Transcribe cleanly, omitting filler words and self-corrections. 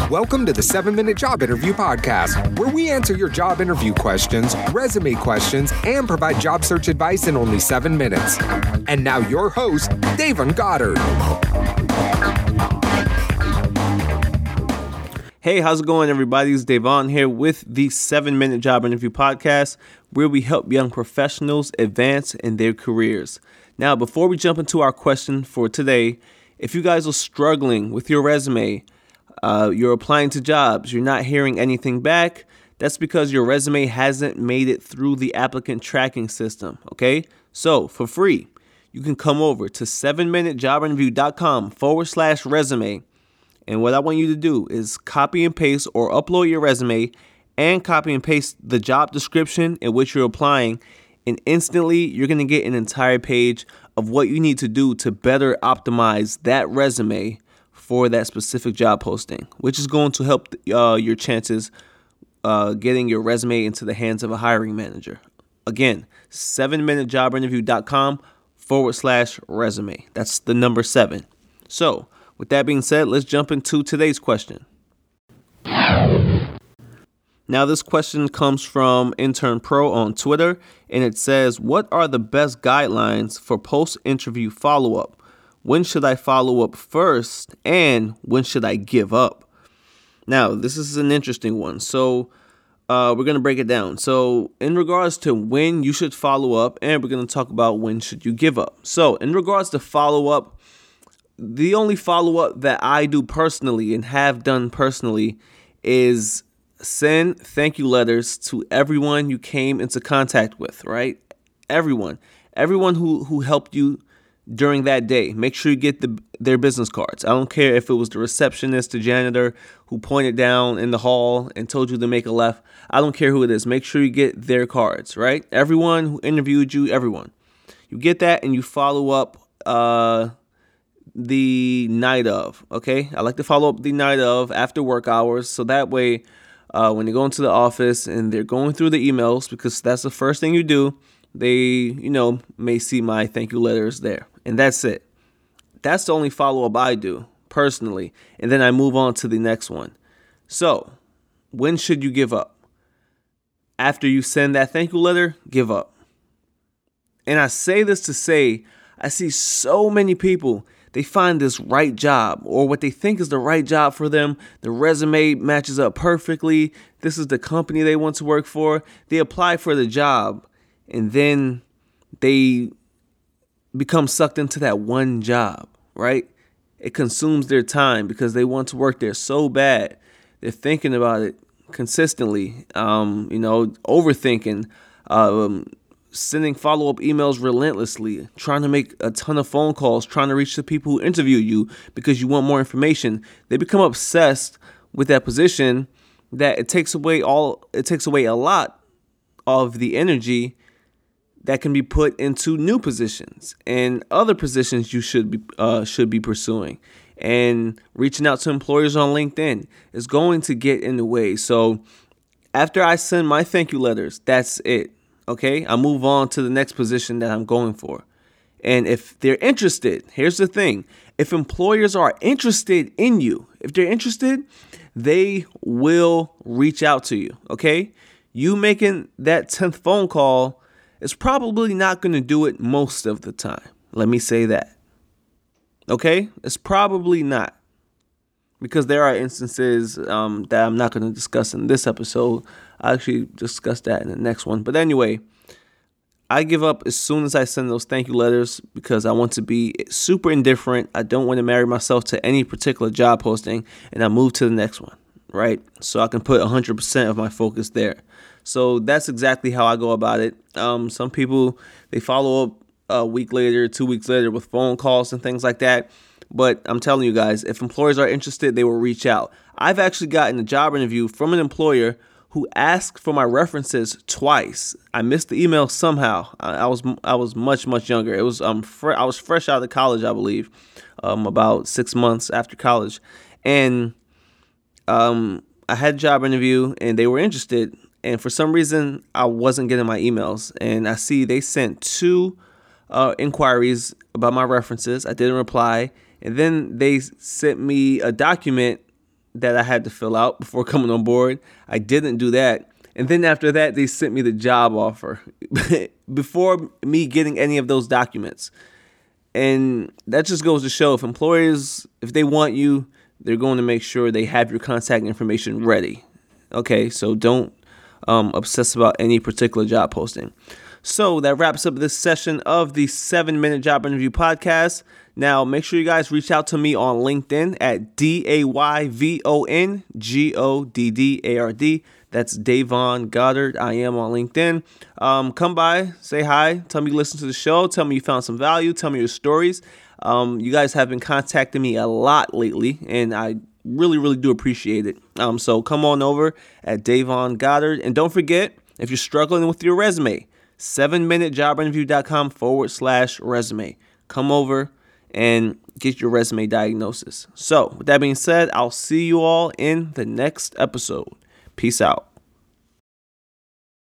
Welcome to the 7-Minute Job Interview Podcast, where we answer your job interview questions, resume questions, and provide job search advice in only 7 minutes. And now your host, Davon Goddard. Hey, how's it going, everybody? It's Davon here with the 7-Minute Job Interview Podcast, where we help young professionals advance in their careers. Now, before we jump into our question for today, if you guys are struggling with your resume, you're applying to jobs, you're not hearing anything back, that's because your resume hasn't made it through the applicant tracking system, okay? So, for free, you can come over to 7minutejobinterview.com/resume. And what I want you to do is copy and paste or upload your resume and copy and paste the job description in which you're applying. And instantly, you're going to get an entire page of what you need to do to better optimize that resume for that specific job posting, which is going to help your chances getting your resume into the hands of a hiring manager. Again, 7minutejobinterview.com/resume. That's the number 7. So, with that being said, let's jump into today's question. Now, this question comes from Intern Pro on Twitter, and it says, what are the best guidelines for post-interview follow-up? When should I follow up first, and when should I give up? Now, this is an interesting one, so we're going to break it down. So, in regards to when you should follow up, and we're going to talk about when should you give up. So, in regards to follow-up, the only follow-up that I do personally and have done personally is send thank you letters to everyone you came into contact with, right? Everyone who helped you during that day. Make sure you get their business cards. I don't care if it was the receptionist, the janitor who pointed down in the hall and told you to make a left. I don't care who it is. Make sure you get their cards, right? Everyone who interviewed you, everyone. You get that and you follow up the night of, okay? I like to follow up the night of after work hours, so that way when they go into the office and they're going through the emails, because that's the first thing you do, they, may see my thank you letters there. And that's it. That's the only follow-up I do personally. And then I move on to the next one. So, when should you give up? After you send that thank you letter, give up. And I say this to say, I see so many people, they find this right job or what they think is the right job for them. The resume matches up perfectly. This is the company they want to work for. They apply for the job and then they become sucked into that one job, right? It consumes their time because they want to work there so bad. They're thinking about it consistently, overthinking, sending follow-up emails relentlessly, trying to make a ton of phone calls, trying to reach the people who interview you because you want more information. They become obsessed with that position that it takes away a lot of the energy that can be put into new positions and other positions you should be pursuing. And reaching out to employers on LinkedIn is going to get in the way. So after I send my thank you letters, that's it. Okay, I move on to the next position that I'm going for. And if they're interested, here's the thing. If employers are interested in you, if they're interested, they will reach out to you. Okay, you making that 10th phone call is probably not going to do it most of the time. Let me say that. Okay, it's probably not. Because there are instances that I'm not going to discuss in this episode. I'll actually discuss that in the next one. But anyway, I give up as soon as I send those thank you letters because I want to be super indifferent. I don't want to marry myself to any particular job posting, and I move to the next one, right? So I can put 100% of my focus there. So that's exactly how I go about it. Some people, they follow up a week later, 2 weeks later with phone calls and things like that. But I'm telling you guys, if employers are interested, they will reach out. I've actually gotten a job interview from an employer who asked for my references twice. I missed the email somehow. I was much younger. It was I was fresh out of college, I believe, about 6 months after college, and I had a job interview, and they were interested. And for some reason, I wasn't getting my emails, and I see they sent 2 inquiries about my references. I didn't reply. And then they sent me a document that I had to fill out before coming on board. I didn't do that. And then after that, they sent me the job offer before me getting any of those documents. And that just goes to show if employers, if they want you, they're going to make sure they have your contact information ready. Okay, so don't obsess about any particular job posting. So that wraps up this session of the 7-Minute Job Interview Podcast. Now, make sure you guys reach out to me on LinkedIn at DAYVONGODDARD. That's Davon Goddard. I am on LinkedIn. Come by, say hi, tell me you listen to the show, tell me you found some value, tell me your stories. You guys have been contacting me a lot lately, and I really, really do appreciate it. So come on over at Davon Goddard. And don't forget, if you're struggling with your resume, 7minutejobinterview.com/resume. Come over and get your resume diagnosis. So with that being said, I'll see you all in the next episode. Peace out.